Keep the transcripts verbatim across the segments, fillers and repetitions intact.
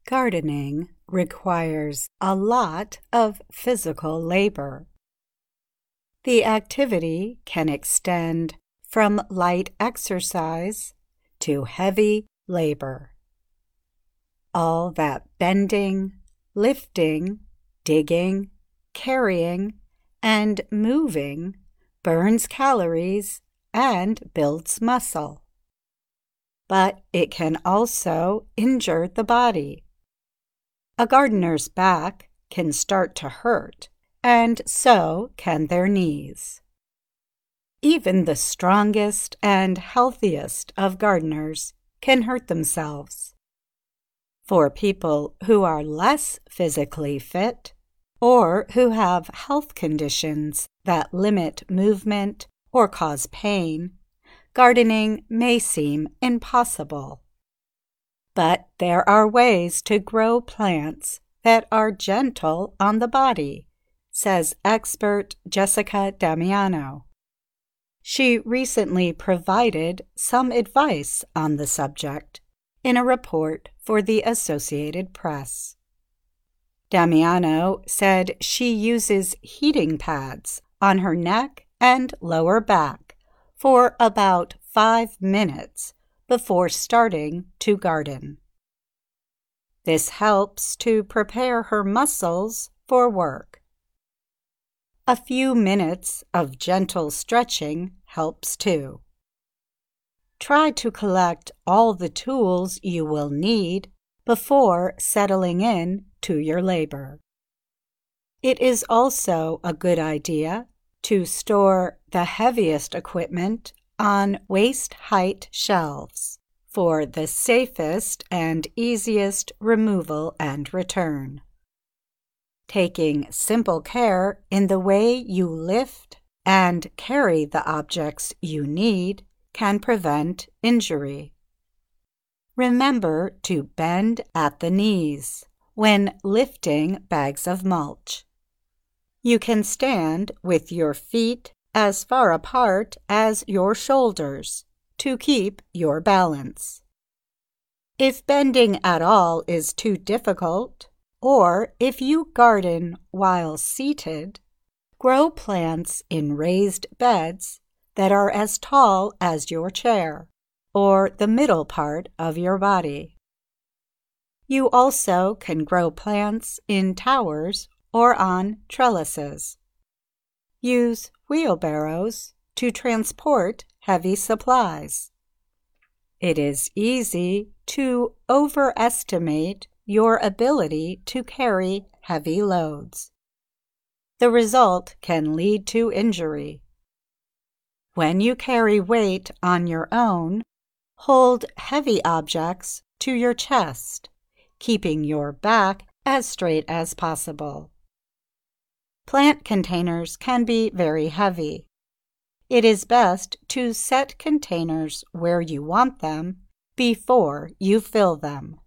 Gardening requires a lot of physical labor. The activity can extend from light exercise to heavy labor. All that bending, lifting, digging, carrying, and moving burns calories and builds muscle. But it can also injure the body. A gardener's back can start to hurt, and so can their knees. Even the strongest and healthiest of gardeners can hurt themselves. For people who are less physically fit, or who have health conditions that limit movement or cause pain, gardening may seem impossible. But there are ways to grow plants that are gentle on the body, says expert Jessica Damiano. She recently provided some advice on the subject in a report for the Associated Press. Damiano said she uses heating pads on her neck and lower back for about five minutes before starting to garden. This helps to prepare her muscles for work. A few minutes of gentle stretching helps too. Try to collect all the tools you will need before settling in to your labor. It is also a good idea to store the heaviest equipment on waist-height shelves for the safest and easiest removal and return. Taking simple care in the way you lift and carry the objects you need can prevent injury. Remember to bend at the knees when lifting bags of mulch. You can stand with your feet as far apart as your shoulders to keep your balance. If bending at all is too difficult, or if you garden while seated, grow plants in raised beds that are as tall as your chair or the middle part of your body. You also can grow plants in towers or on trellises. Use wheelbarrows to transport heavy supplies. It is easy to overestimate your ability to carry heavy loads. The result can lead to injury. When you carry weight on your own, hold heavy objects to your chest, keeping your back as straight as possible. Plant containers can be very heavy. It is best to set containers where you want them before you fill them.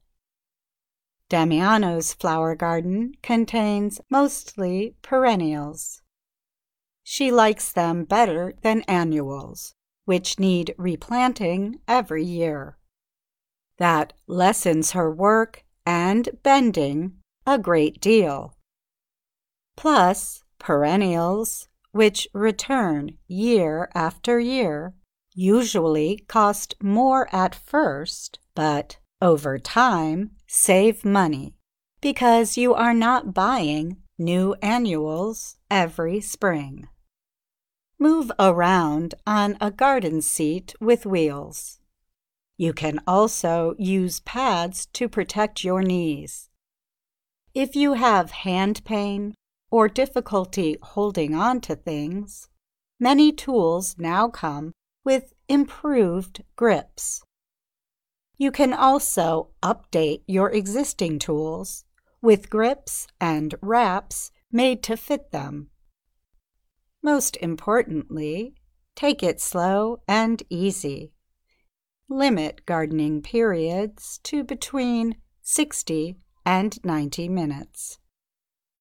Damiano's flower garden contains mostly perennials. She likes them better than annuals, which need replanting every year. That lessens her work and bending a great deal. Plus, perennials, which return year after year, usually cost more at first, but over time save money because you are not buying new annuals every spring. Move around on a garden seat with wheels. You can also use pads to protect your knees. If you have hand pain or difficulty holding on to things, many tools now come with improved grips. You can also update your existing tools with grips and wraps made to fit them. Most importantly, take it slow and easy. Limit gardening periods to between sixty and ninety minutes.